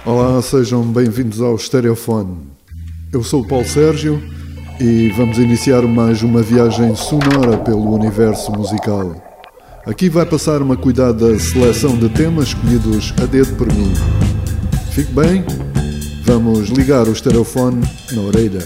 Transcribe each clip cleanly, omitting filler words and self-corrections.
Olá, sejam bem-vindos ao Stereofone. Eu sou o Paulo Sérgio e vamos iniciar mais uma viagem sonora pelo universo musical. Aqui vai passar uma cuidada seleção de temas escolhidos a dedo por mim. Fique bem, vamos ligar o Stereofone na orelha.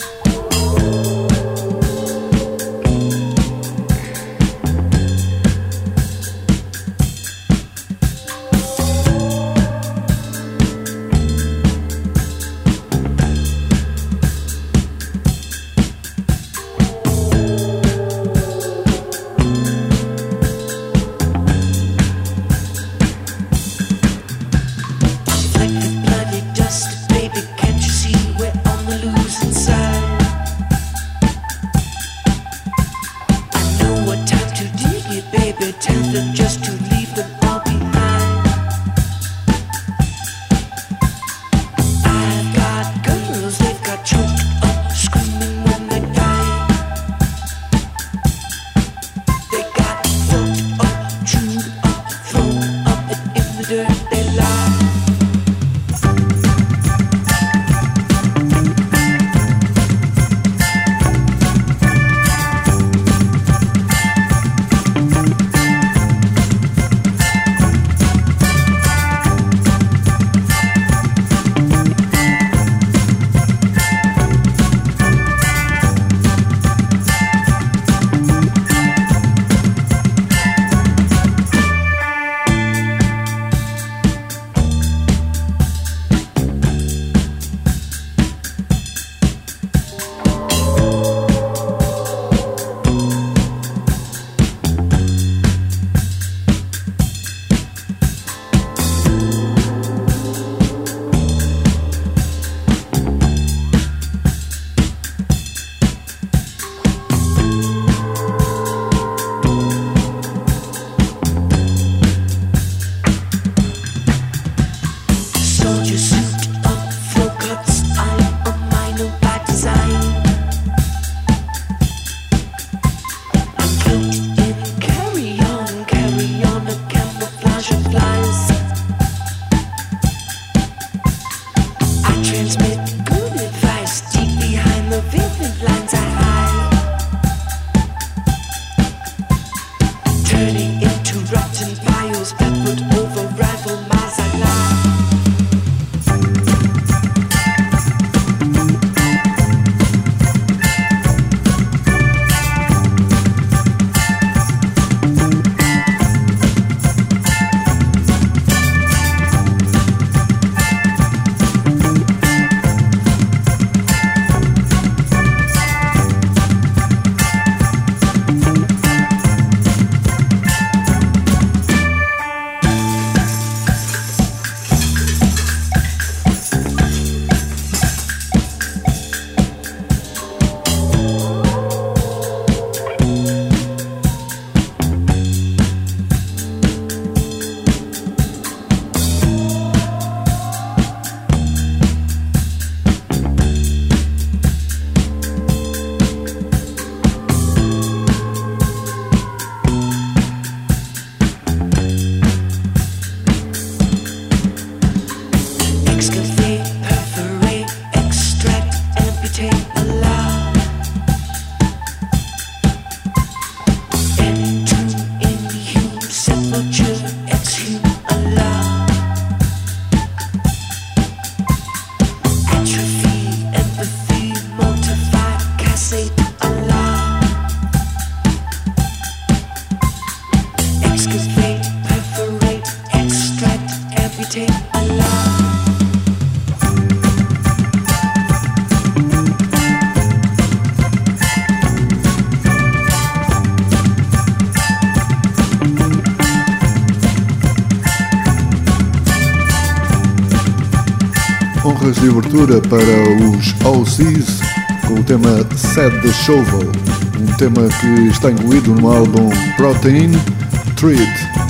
Honras de abertura para os OCs com o tema Set the Shovel, um tema que está incluído no álbum Protein Treat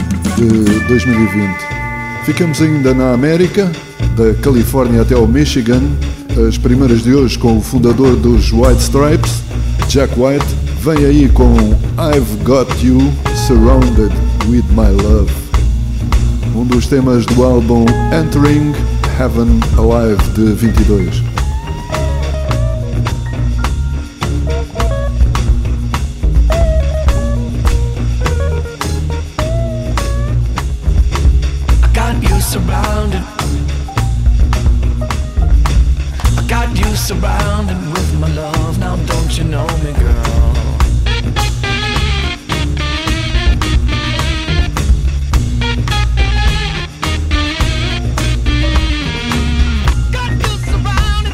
de 2020. Ficamos ainda na América, da Califórnia até ao Michigan, as primeiras de hoje com o fundador dos White Stripes, Jack White, vem aí com I've Got You Surrounded With My Love, um dos temas do álbum Entering Heaven Alive de 22. Surrounded, I got you surrounded with my love. Now don't you know me, girl? Got you surrounded.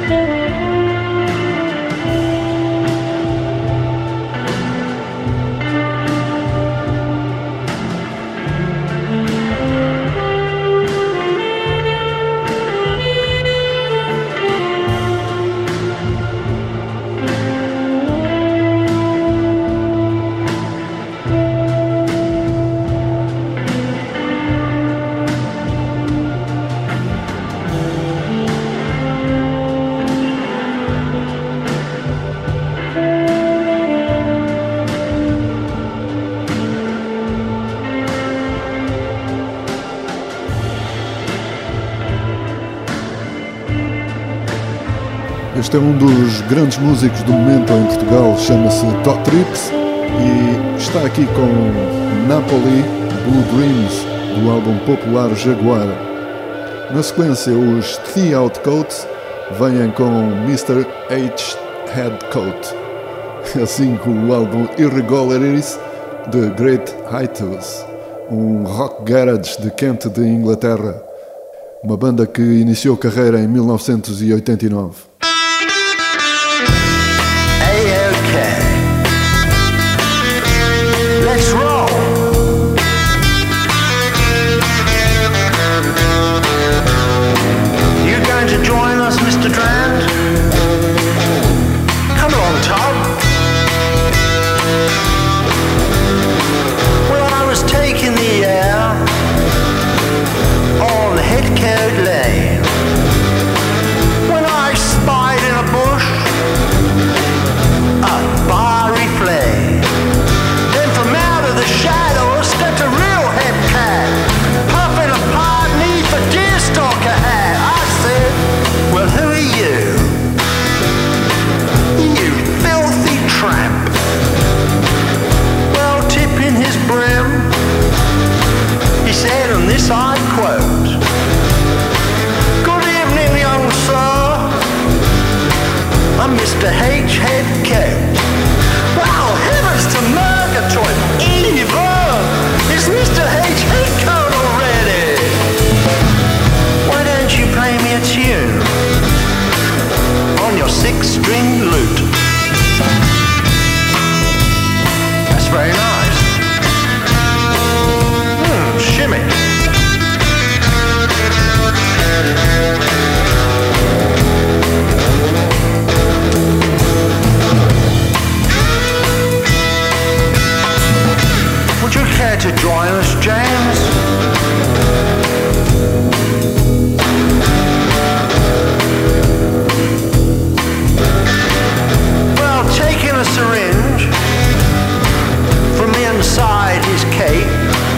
Este é um dos grandes músicos do momento em Portugal, chama-se Todd Trips e está aqui com Napoli Blue Dreams, do álbum popular Jaguar. Na sequência, os The Outcoats vêm com Mr. H. Headcoat, assim como o álbum Irregularities de Great Hiatus, um rock garage de Kent, de Inglaterra, uma banda que iniciou carreira em 1989. Mr. H. Headcoat. Wow, heavens to Murgatroyd! Evil! Is Mr. H. Headcoat already? Why don't you play me a tune on your 6-string lute? That's very nice. Shimmy. Would you care to join us, James? Well, taking a syringe from inside his cape,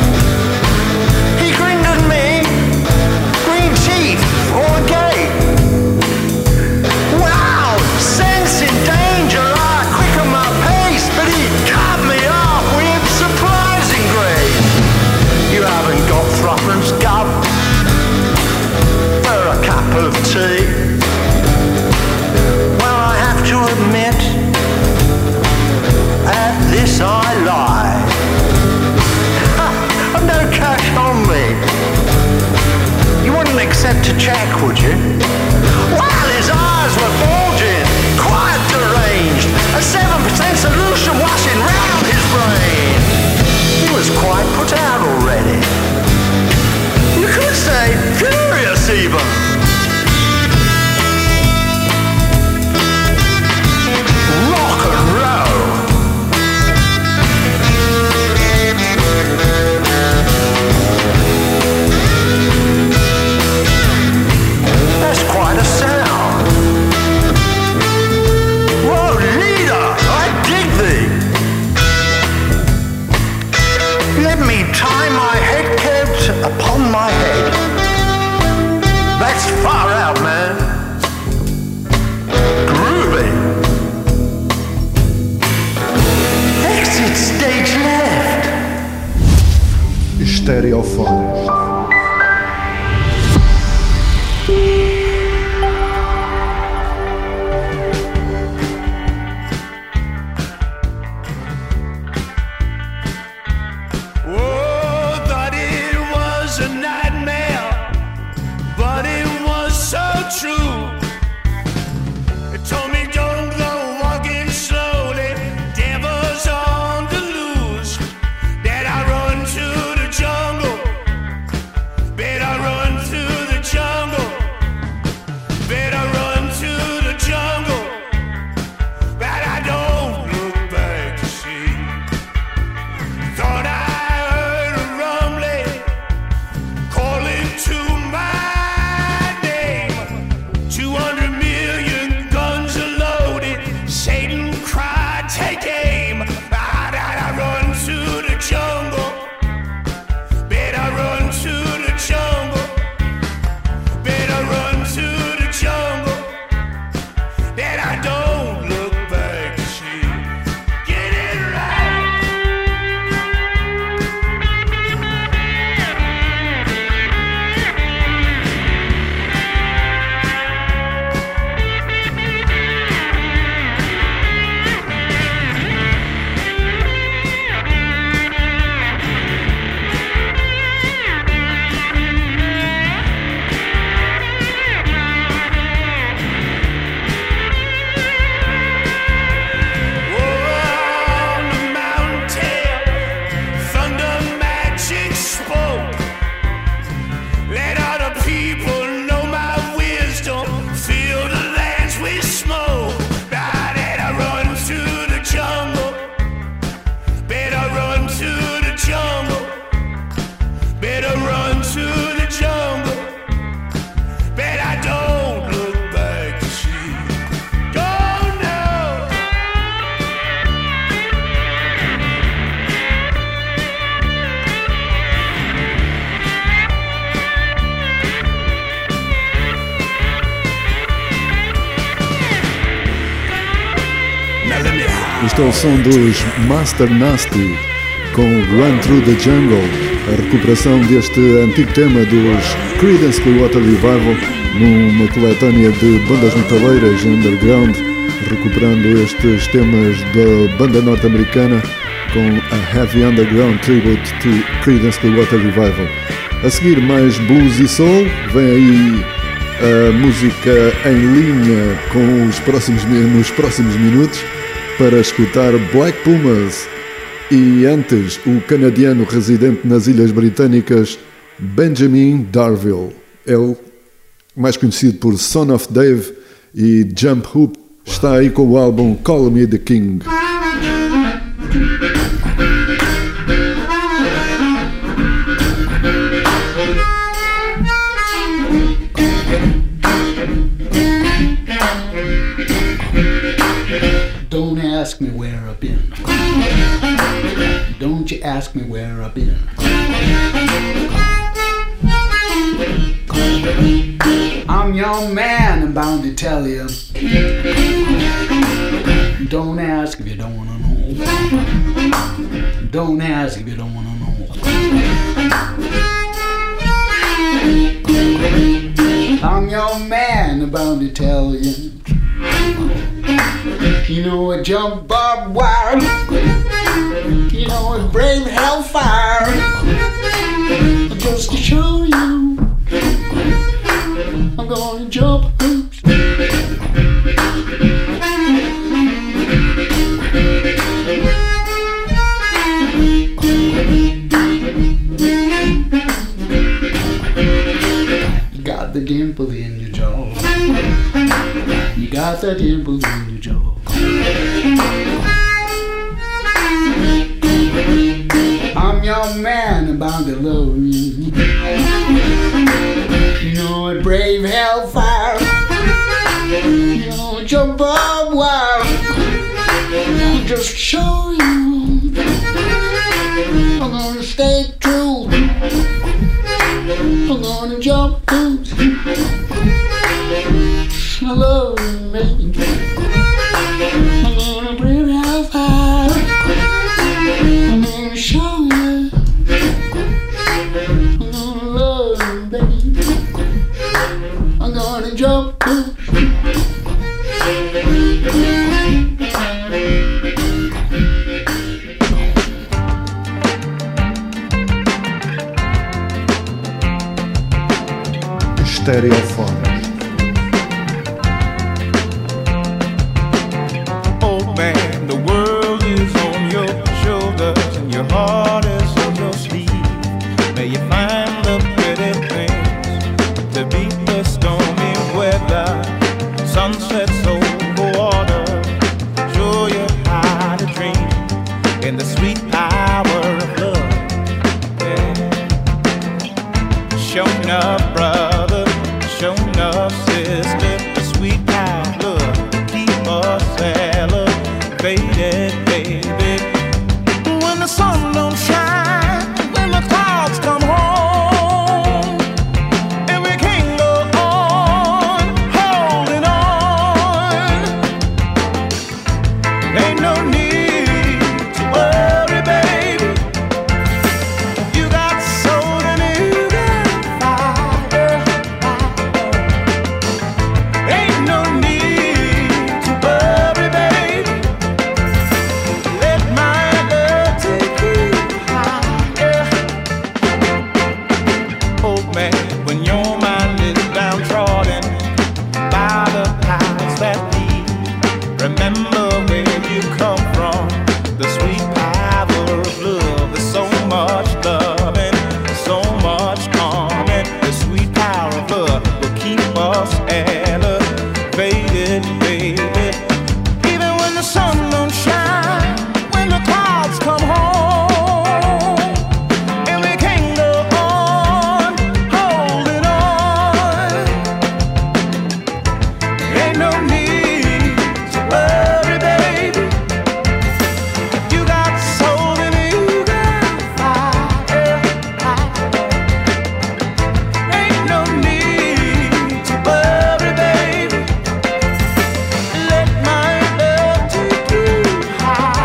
he grinned at me, green teeth or a gate. Wow, sensing danger, I quickened my pace, but he cut me off with surprising grace. You haven't got threepence gub for a cup of tea? Well, I have to admit, at this I lie. I've no cash on me. You wouldn't accept a check, would you? Well, his eyes were bulging, quite deranged, a 7% solution washing round his brain. He was quite put out already. You could say furious even. Rock and roll. That's quite a sound. Whoa, leader, I dig thee. Let me tie my head coat upon my head. That's far out, man. Groovy. Exit stage left. Estereofones. Oh, thought it was a nightmare, but it was so true. Este é o som dos Master Nasty com Run Through the Jungle, a recuperação deste antigo tema dos Creedence Clearwater Revival numa coletânea de bandas metaleiras underground, recuperando estes temas da banda norte-americana com a Heavy Underground Tribute to Creedence Clearwater Revival. A seguir mais blues e soul, vem aí a música em linha com nos próximos minutos para escutar Black Pumas e antes o canadiano residente nas Ilhas Britânicas Benjamin Darville, ele mais conhecido por Son of Dave e Jump Hoop, está aí com o álbum Call Me The King. Don't ask me where I've been. Don't you ask me where I've been. I'm your man, I'm bound to tell you. Don't ask if you don't wanna know. Don't ask if you don't wanna know. I'm your man, I'm bound to tell you. You know a jump barbed wire. You know a brave hellfire. Just to show you, I'm gonna jump hoops. You got the dimple in your jaw. You got the dimple in your jaw. I'm your man, I'm bound to love you. You know a brave hellfire. You know a jump barbed wire. Just show you, I'm gonna stay true. I'm gonna jump hoops. I love you, man. I'm gonna bring out fire. I'm gonna show you. I'm gonna love you, baby. I'm gonna jump hoops. Stereophonic. high.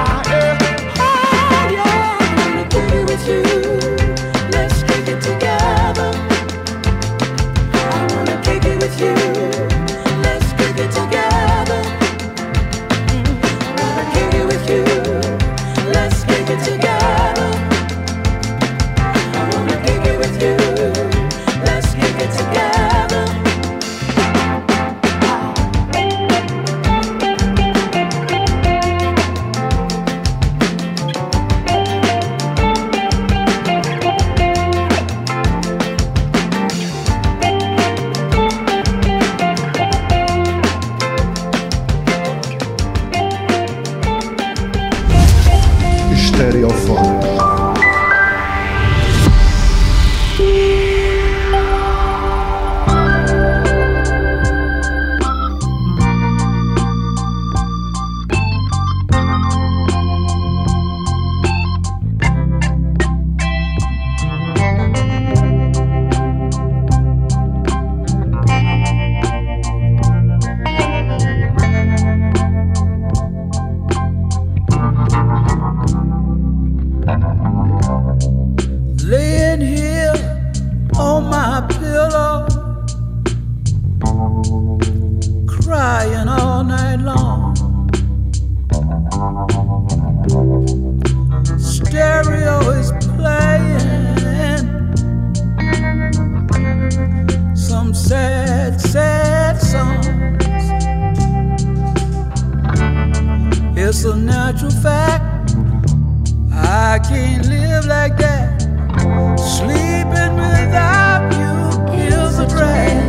all night long. Stereo is playing some sad, sad songs. It's a natural fact, I can't live like that. Sleeping without you is a drag.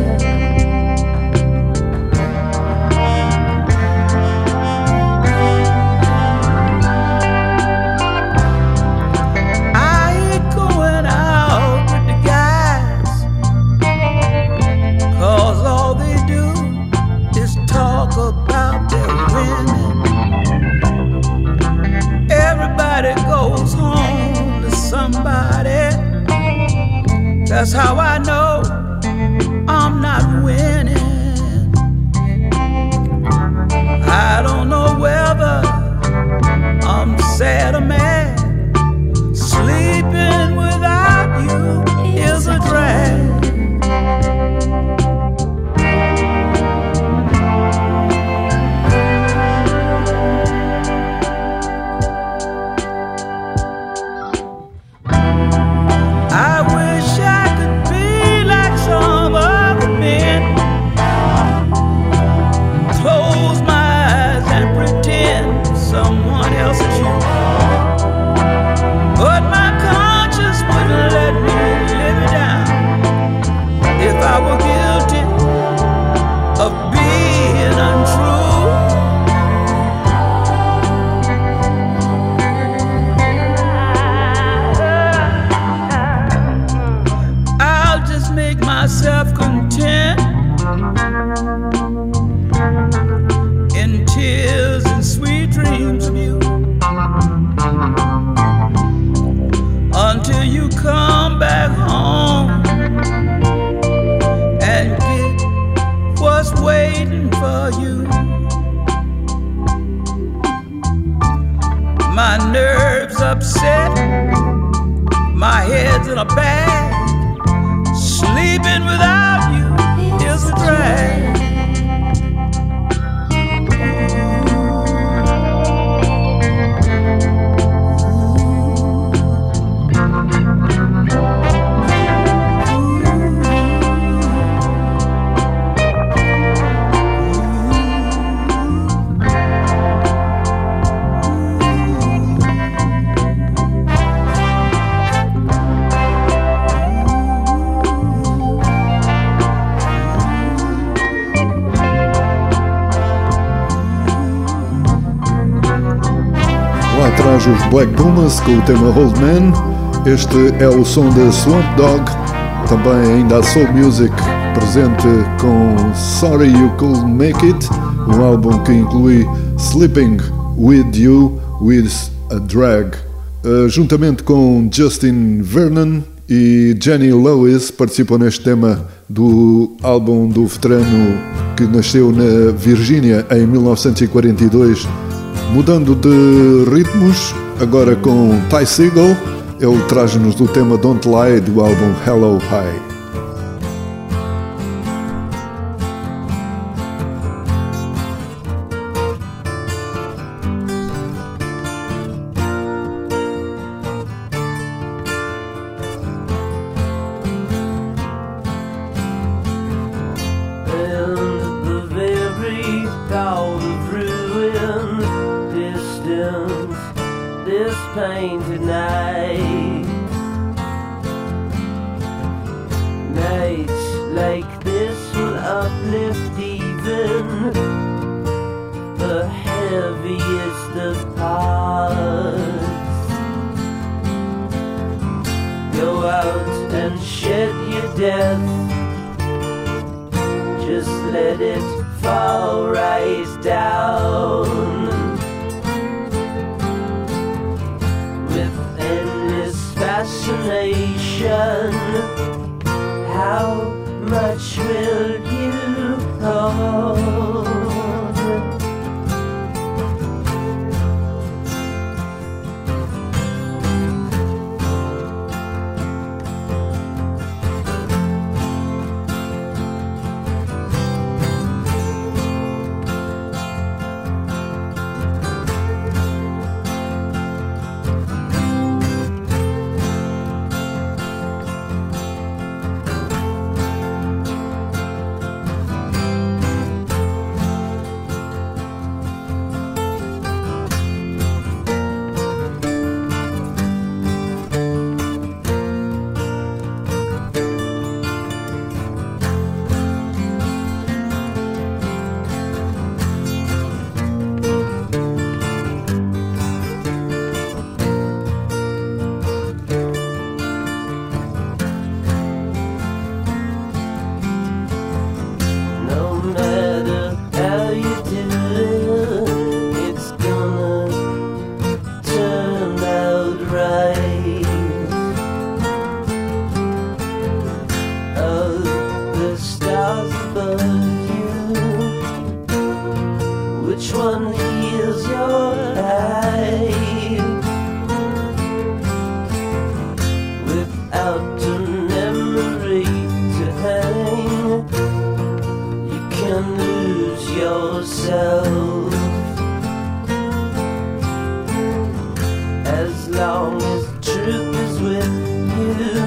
About their women. Everybody goes home to somebody. That's how I know I'm not winning. I don't know whether I'm sad or mad. Sleeping without you is a drag. Atrás os Black Pumas com o tema Old Man. Este é o som da Swamp Dogg, também ainda a Soul Music presente com Sorry You Couldn't Make It, um álbum que inclui Sleeping With You With a Drag. Juntamente com Justin Vernon e Jenny Lewis participam neste tema do álbum do veterano que nasceu na Virgínia em 1942. Mudando de ritmos, agora com Ty Segall, ele traz-nos do tema Don't Lie do álbum Hello High. which one is your life? Without a memory to hang, you can lose yourself. As long as truth is with you,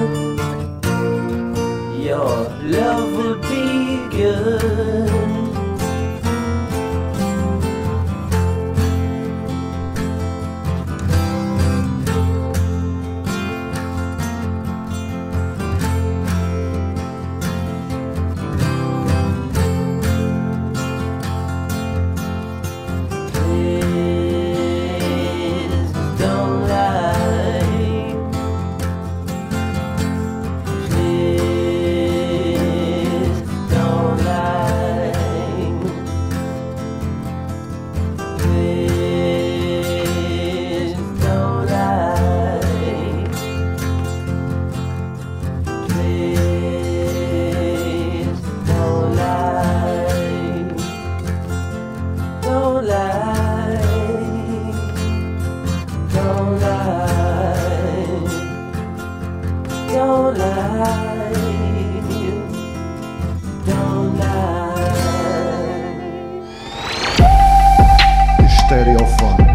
your love will be good. Stereofone.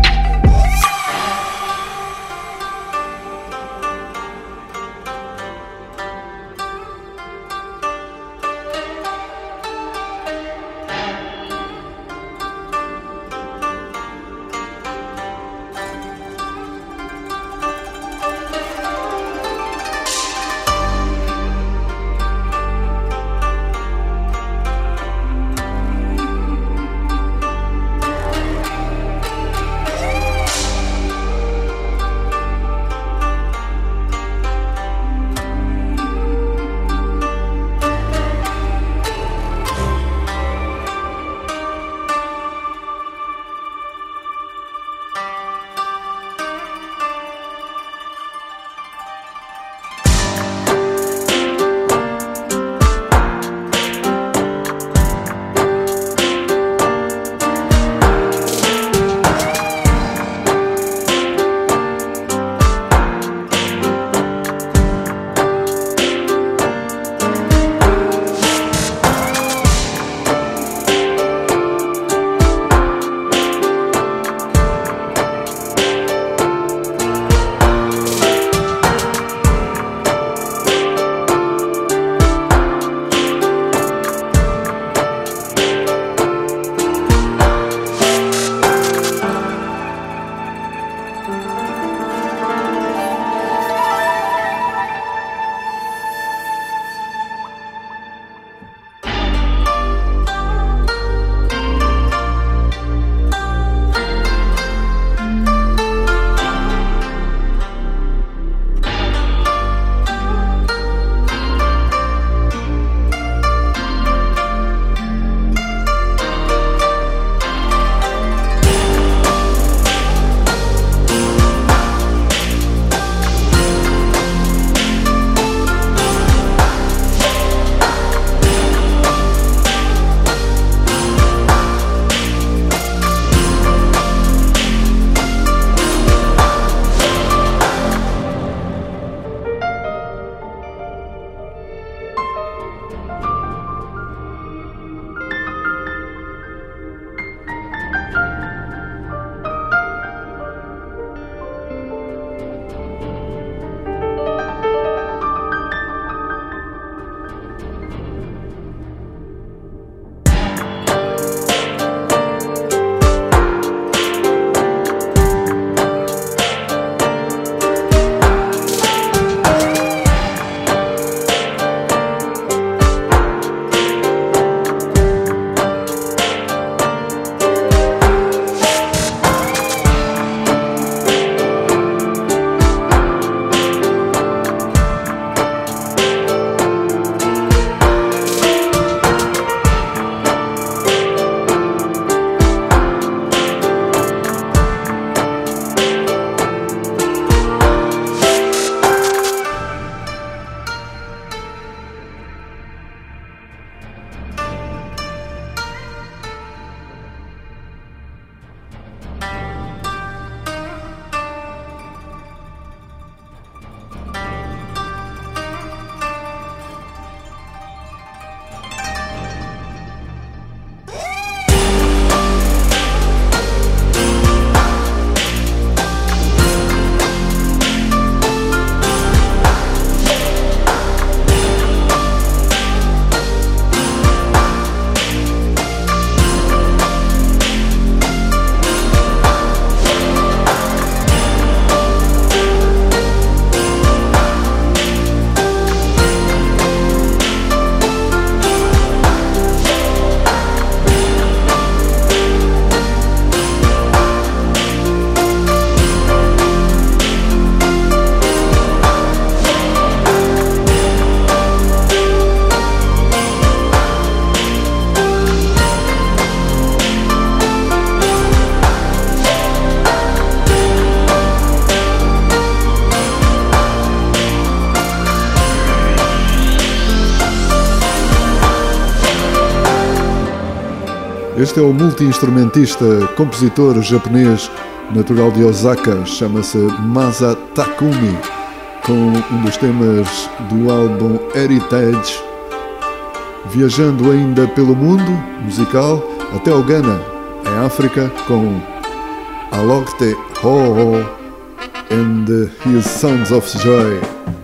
Este é o multi-instrumentista, compositor japonês natural de Osaka, chama-se Masa Takumi, com um dos temas do álbum Heritage, viajando ainda pelo mundo musical até ao Ghana, em África, com Alokte Ho and His Sounds of Joy.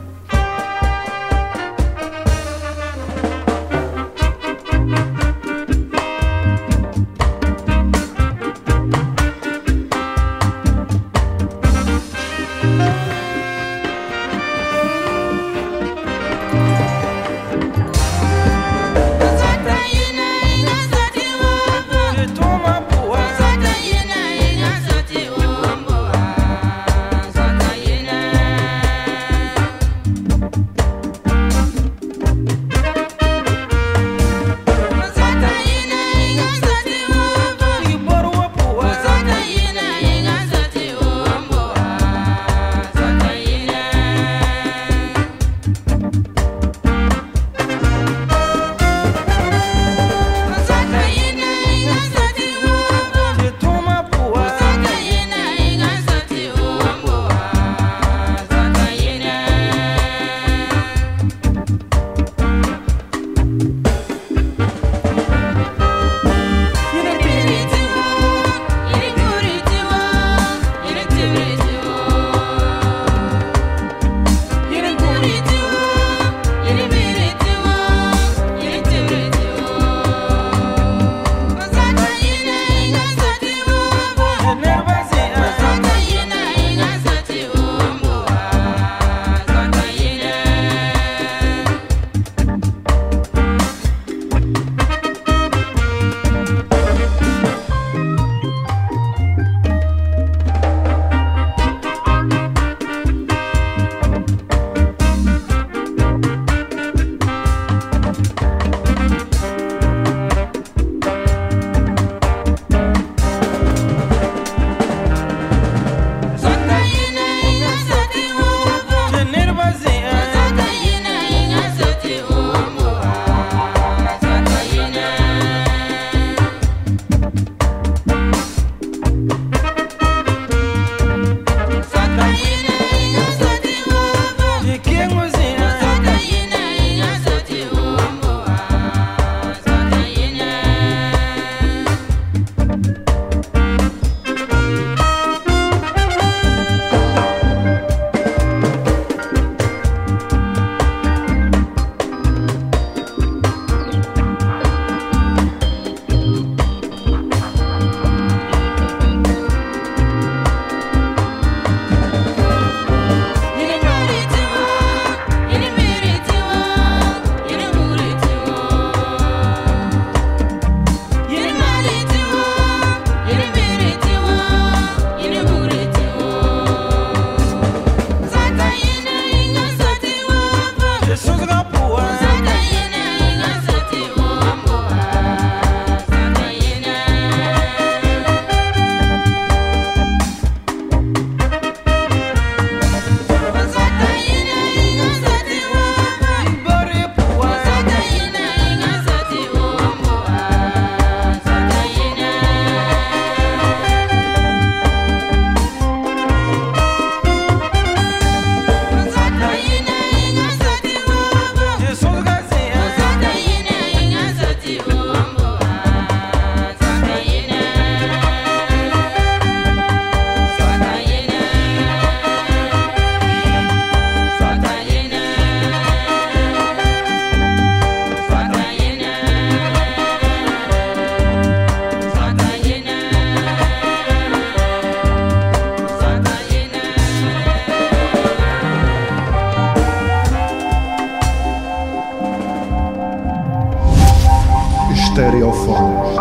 Stereophonics.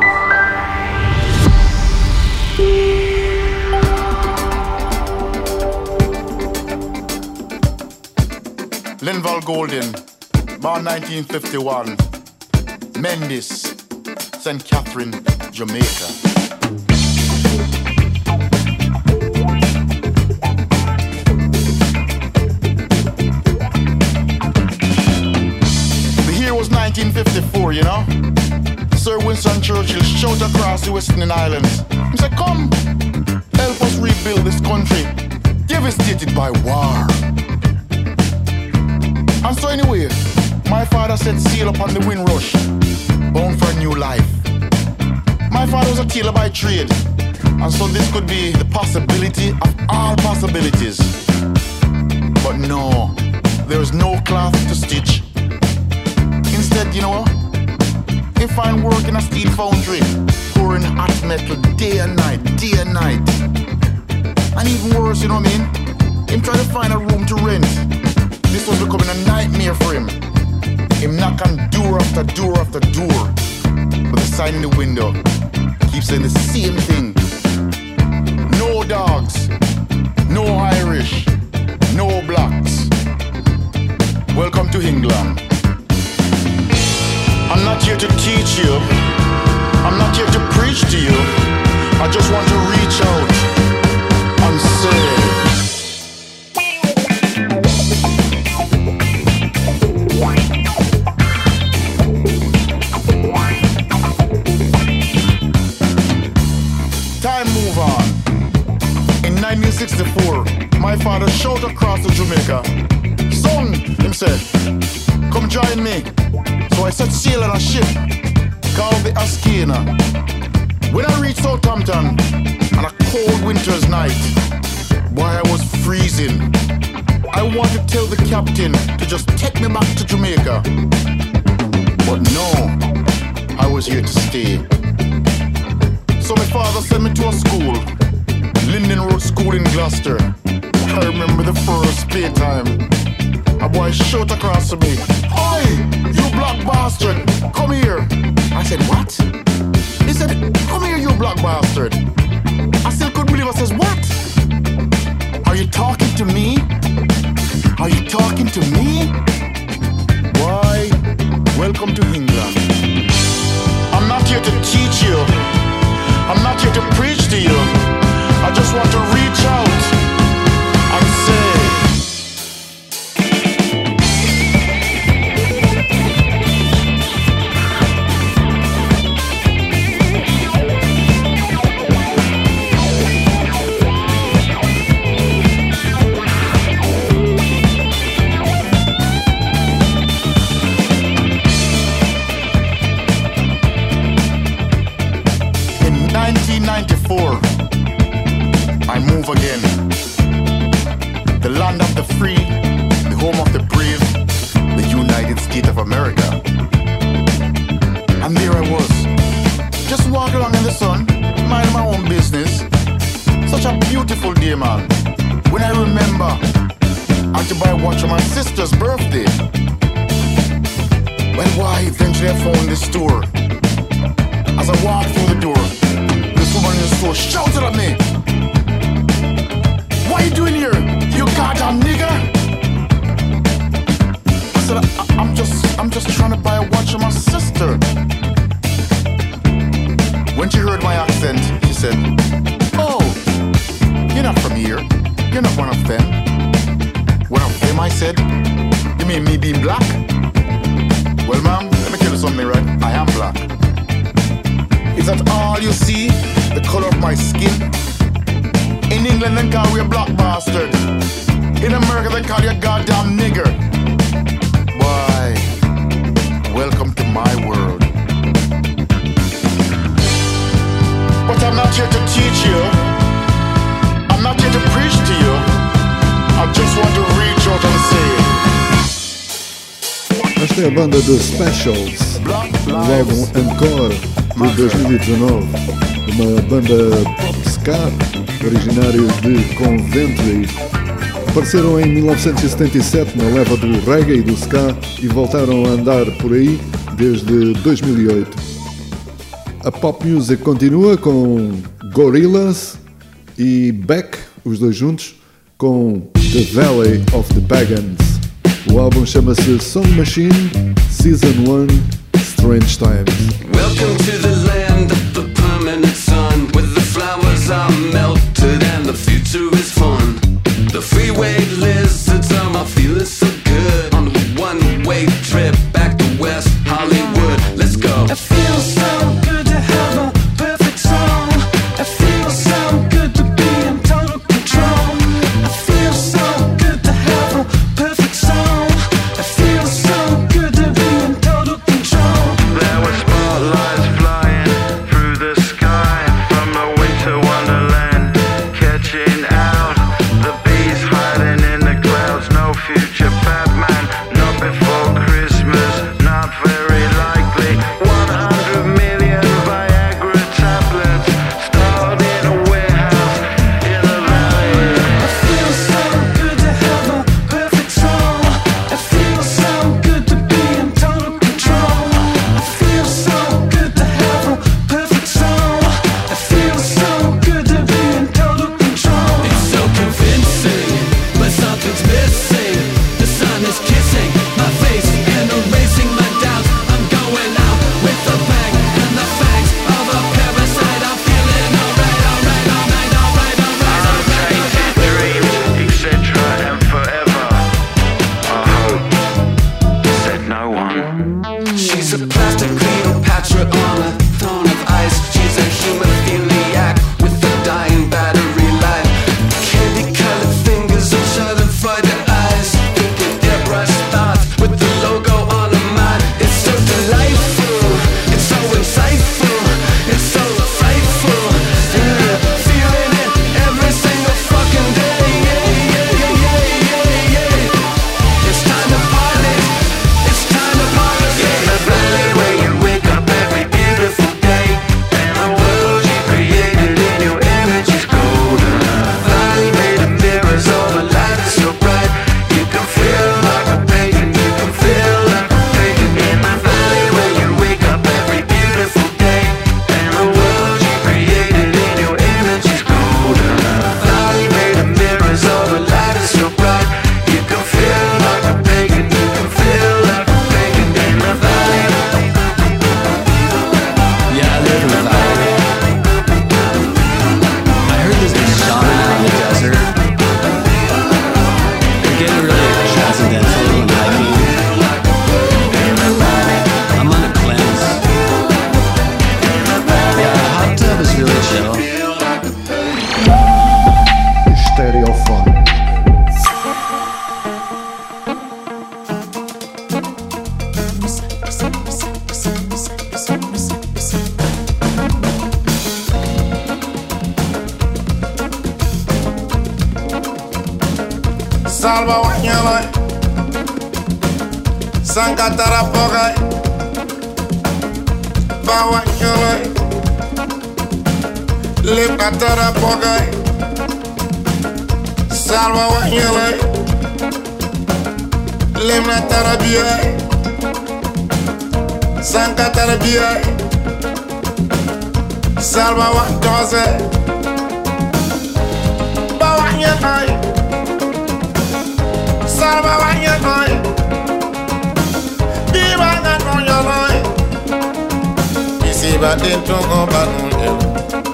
Linval Golding, born 1951, Mendes, St. Catherine, Jamaica. The year was 1954, you know? Sir Winston Churchill shout across the Western Islands. He said, come, help us rebuild this country devastated by war. And so anyway, my father set sail upon the Windrush, bound for a new life. My father was a tailor by trade, and so this could be the possibility of all possibilities. But no, there is no cloth to stitch. Instead, you know, he find work in a steel foundry, pouring hot metal day and night, day and night. And even worse, you know what I mean? Him try to find a room to rent. This was becoming a nightmare for him. Him knock on door after door after door, but the sign in the window keeps saying the same thing. No dogs, no Irish, no blacks. Welcome to England. I'm not here to teach you, I'm not here to preach to you. I just want to reach out and say, time move on. In 1964, my father shouted across the Jamaica, son, him said, come join me. So I set sail on a ship called the Ascana. When I reached Southampton on a cold winter's night, boy, I was freezing. I wanted to tell the captain to just take me back to Jamaica. But no, I was here to stay. So my father sent me to a school, Linden Road School in Gloucester. I remember the first playtime. A boy shouted across to me, "Oi, you black bastard, come here." I said, "What?" He said, "Come here, you black bastard." I still couldn't believe it. I says, "What? Are you talking to me? Are you talking to me?" Why, welcome to England. I'm not here to teach you. I'm not here to preach to you. I just want to reach out and say, I move again. The land of the free, the home of the brave, the United States of America. And there I was, just walking along in the sun, minding my own business. Such a beautiful day, man. When I remember I had to buy a watch for my sister's birthday. Well, why, eventually I found this store. As I walked through the door, this woman in the store shouted at me, "What are you doing here, you goddamn nigger?" I said, I'm just trying to buy a watch for my sister. When she heard my accent, she said, "Oh, you're not from here. You're not one of them." "One of them?" I said. "You mean me being black?" "Well, ma'am, let me tell you something, right? I am black." "Is that all you see? The color of my skin?" "In England they call you a black bastard. In America they call you a goddamn nigger." Why, welcome to my world. But I'm not here to teach you. I'm not here to preach to you. I just want to reach out and say, esta é a banda The Specials, no álbum Encore de 2019, uma banda pop ska originário de Coventry. Apareceram em 1977 na leva do reggae e do ska e voltaram a andar por aí desde 2008. A pop music continua com Gorillaz e Beck, os dois juntos, com The Valley of the Pagans. O álbum chama-se Song Machine, Season 1, Strange Times. Welcome to the land of the permanent sun, where the flowers are melted and the future is fun. The freeway lizards are feeling so good on a one-way trip back to West Hollywood. Let's go. I feel so Salva wanyala Sankatara pogai Ba wanyala Lepatara pogai Salva wanyala Lemnatara biai Sankatara biai Salva wanyala Ba wanyala Salva wanyala Diba na nonyala Isi ba dentro ko ba nonyala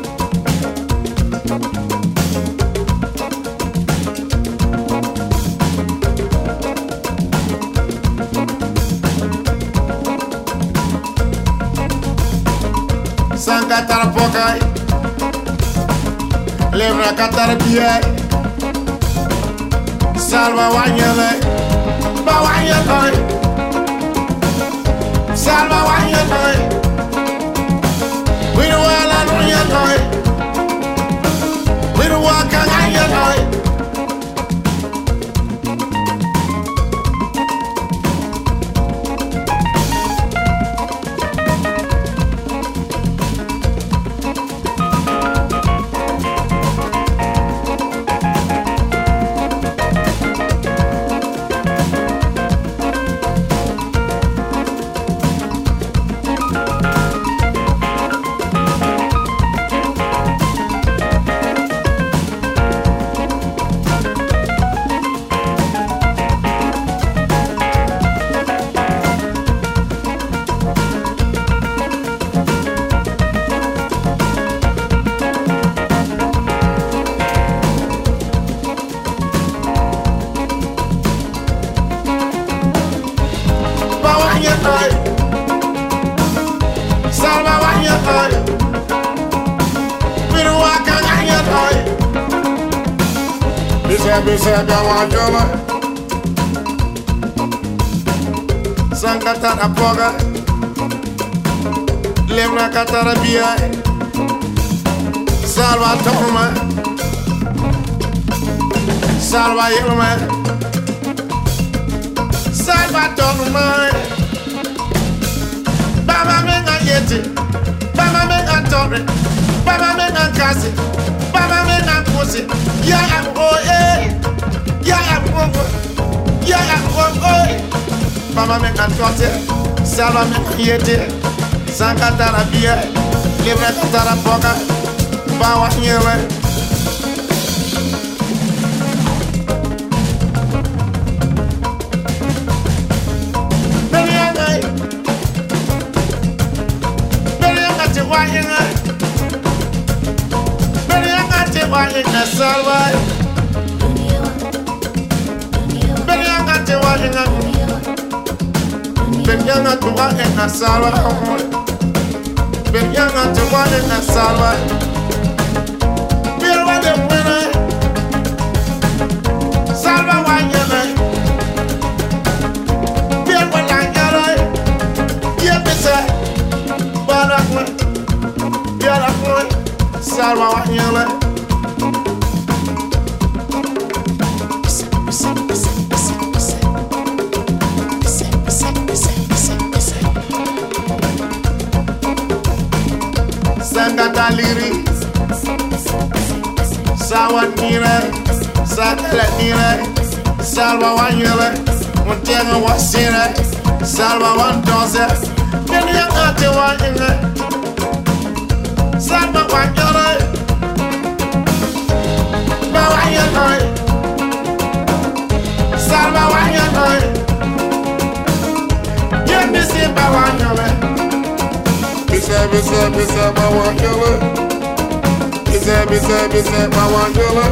Sankatara pokai Levra katara biai Salva wanyala Ba wanyala Salva wanyala We don't want to know your noise We don't want to know your noise Bisa wajala Sankatara poga Lemna katara biai Salva toma Salva yelma Salva toma Baba menga yeti Baba menga torre Baba menga kasi Baba menga pussy Ya oh eh Ya Mama me can tote Salva me yeti Sankatara biai Lemna katara poga Ba wanyala Salva Benyanga tuwa ena salva Benyanga tuwa ena salva Birwa de mwena Salva wanyana Birwa langara Yebisa Bala kwe Biala kwe Salva wanyana Sangata liri Sawan nire Sakala nire Salva wanyele Muntenga wasire Salva wantose Benyanga te wanyele Salva wanyele Ba wanyele Salva wanyele Yemisi ba wanyele Bisa ma wanyele Bisa ma wanyele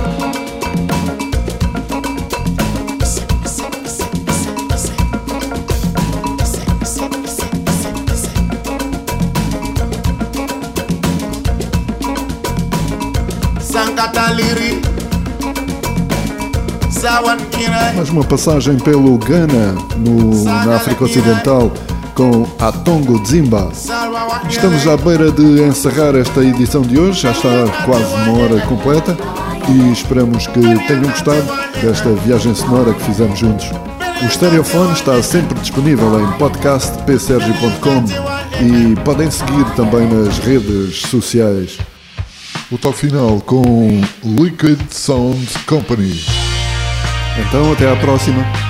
Sankata liri Sawan kira Mais uma passagem pelo Ghana, na África Ocidental, com Atongo Dzimba. Estamos à beira de encerrar esta edição de hoje, já está quase uma hora completa e esperamos que tenham gostado desta viagem sonora que fizemos juntos. O Stereofone está sempre disponível em podcastpsergio.com e podem seguir também nas redes sociais. O toque final com Liquid Sound Company. Então até à próxima.